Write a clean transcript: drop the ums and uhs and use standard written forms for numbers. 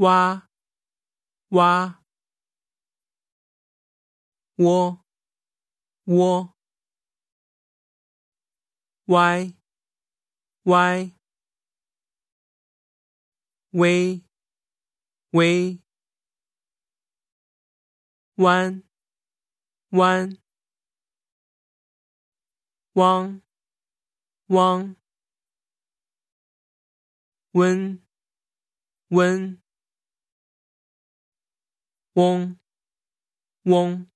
蛙蛙窝窝歪歪微微弯弯汪汪温温嗡嗡